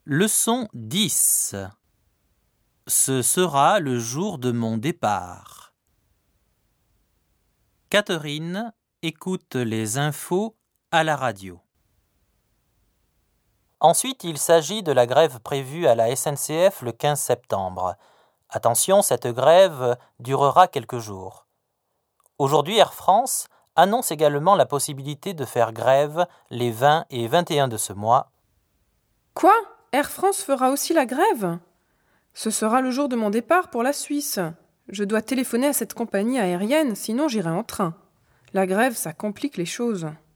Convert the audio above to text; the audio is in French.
Leçon 10. Ce sera le jour de mon départ. Catherine écoute les infos à la radio. Ensuite, il s'agit de la grève prévue à la SNCF le 15 septembre. Attention, cette grève durera quelques jours. Aujourd'hui, Air France annonce également la possibilité de faire grève les 20 et 21 de ce mois. Quoi ? Air France fera aussi la grève ? Ce sera le jour de mon départ pour la Suisse. Je dois téléphoner à cette compagnie aérienne, sinon j'irai en train. La grève, ça complique les choses.